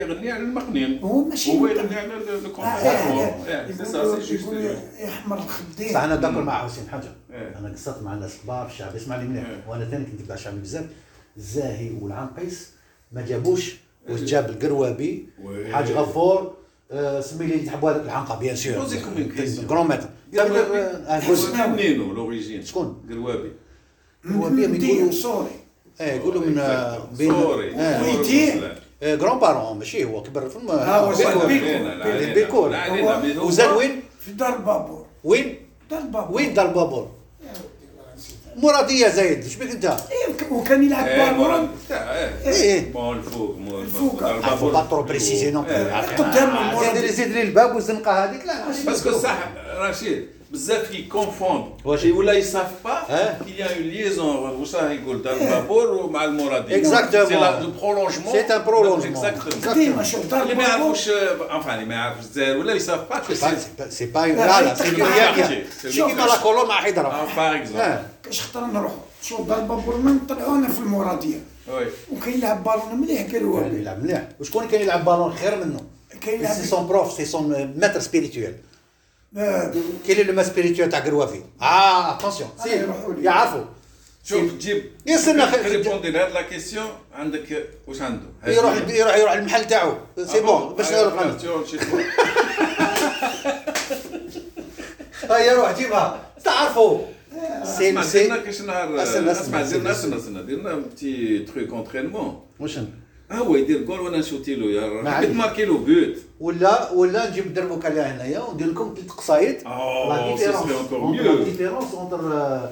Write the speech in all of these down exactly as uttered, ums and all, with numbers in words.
يغني على المقنين هو ماشي هو يغني على الكونتراتور سي سا سي جوست يحمر الخدين. صح انا داكر مع حسين حاجه. انا قصرت مع الناس الكبار في الشعب، اسمعني مليح، وانا ثاني كنت بتاع الشعب بزاف. الزاهي والعنقيس ما جابوش، واش جاب القروابي حاج غفور سمي لي تحبوا هذاك العنقه بيان سور كرون ماتر منينو لوريجين شكون قروابي قروابي يقولوا سوري ايه يقولوا من بين ويتي غران بارون ماشي هو كبر في البيكور وزاد وين في دار البابور. وين دار البابور وين دار البابور مرادية زايد اش بك انت؟ وكان يلعب بالون ايه بون الفوق الفوق عفوا با ترو بريسيزي نون قدام زيد زيد لي الباب والزنقه هذيك لا باسكو صح رشيد بزاف كي كونفوند ولا يصاف با كي يا اون ليزون واش راه يقول دار البابور مع المرادية اكزاكتومون سي لا برولونجمون سي ان برولونجمون ديما شوف دار اللي ما البابور يعرفوش انفان اللي ما يعرفش الجزائر ولا يصاف با سي با لا لا سي كيما لا كولون مع حيدره باغ اكزومبل كاش خطر نروحو شوف دار البابور من طلعونا في المرادية وي وكاين يلعب بالون مليح قالوا كان يلعب مليح وشكون كان يلعب بالون خير منه كاين يلعب سي سون بروف سي سون ماتر سبيريتويل آه، كاين اللي ما سبيريتويل تاع قروافي اه اتونسيون سي يعرفوا شوف تجيب يستنى ريبوندي لهاد لا كيسيون عندك واش عنده يروح يروح يروح المحل تاعو سي بون باش نعرف هيا روح جيبها تعرفوا سي سي كاش نهار اسمع درنا سنه درنا بتي تروك اونترينمون واش هو يدير جول وانا نشوتي له يا حبيت ماركي له بوت ولا ولا نجيب دربوك عليها هنايا وندير لكم ثلاث قصايد لا ديفيرونس لا ديفيرونس اونتر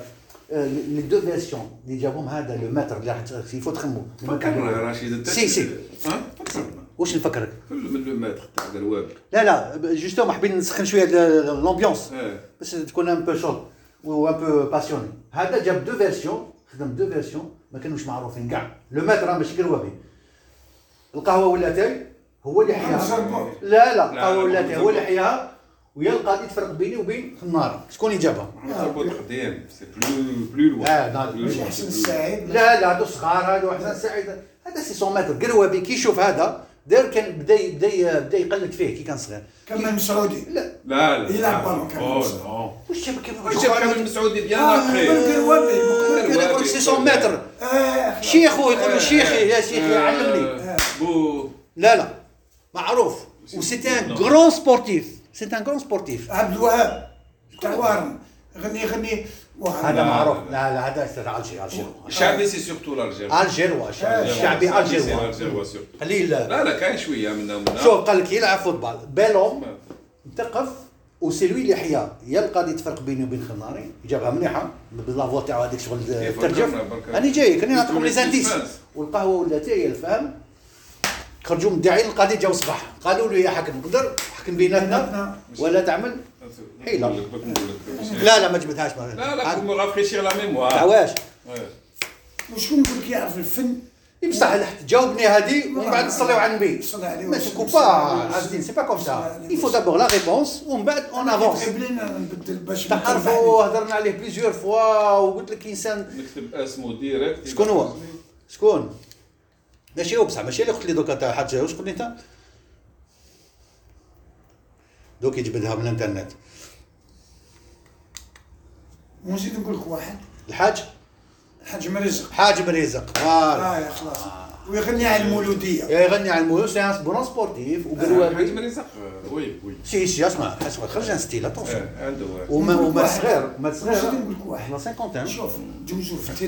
لي دو فيرسيون اللي جابهم هذا لو ماتر اللي راح يفوت خمو فكرنا رشيد سي سي واش نفكرك من لو ماتر تاع قروابي لا لا جوستومون حبيت نسخن شويه لومبيونس باش تكون ان بو شوط و ان بو باسيوني. هذا جاب دو فيرسيون خدم دو فيرسيون ما كانوش معروفين كاع. لو ماتر ماشي قروابي القهوه ولاتاي هو اللي حياها لا لا القهوه ولاتاي هو اللي حياها ويا القاضي تفرق بيني وبين خناره شكون اللي جابها؟ تربط خديم سي بلو بلو لوان اه مش حسن السعيد لا لا هادو صغار هادو حسن السعيد هذا سي سون ماتر قروابي كي يشوف هذا دار كان بدا بدا بدا يقلد فيه كي كان صغير كمال مسعودي لا لا لا يلعب بالون كمال واش جاب واش جاب كمال مسعودي ديالنا اه قروابي يقول سي سون ماتر شيخو يقول له شيخي يا شيخي علمني بو لا لا معروف و سيتي ان غران سبورتيف سيتي ان غران سبورتيف عبد الوهاب تاع وارن غني غني هذا معروف لا لا هذا تاع الجير الجير الشعبي سي سورتو الجير الجيروا الشعبي الجيروا الجيروا سورتو قليل لا لا كاين شويه منهم شوف قال لك يلعب فوتبال بالون تقف وسي لوي اللي حيا يا القاضي تفرق بيني وبين خناري جابها مليحه باللافوا تاعو هذيك شغل ترجف راني جاي كاني نعطيكم لي زانديس والقهوه ولات هي الفهم خرجوا من الداعي القاضي جاو صباح قالوا له يا حكم نقدر حكم بيناتنا ولا تعمل حيله لا لا ما جبتهاش لا لا كوم رافريشير لا ميموار تاع واش وشكون يقول لك يعرف الفن بصح تجاوبني هذه ومن بعد نصليو على النبي صلى عليه ماشي كوبا عزيزين سي با كوم سا il faut d'abord la réponse ومن بعد اون افونس بلينا نبدل باش تعرفوا هضرنا عليه بليزيور فوا وقلت لك انسان نكتب اسمه ديريكت شكون هو شكون ماشي هو بصح ماشي اللي قلت لي دوكا تاع حاج واش قلت لي انت دوك يجبدها من الانترنت ونزيد نقول لك واحد الحاج الحاج مرزق حاج مريزق فوالا اه يا خلاص ويغني على المولوديه يغني على المولود سي ان بون سبورتيف وقالوا حاج مريزق وي وي سي سي اسمع اسمع خرج ان ستيل اتونسيون عنده وما وما صغير ما نزيد صغير نقول لك واحد لا خمسين شوف جوجو في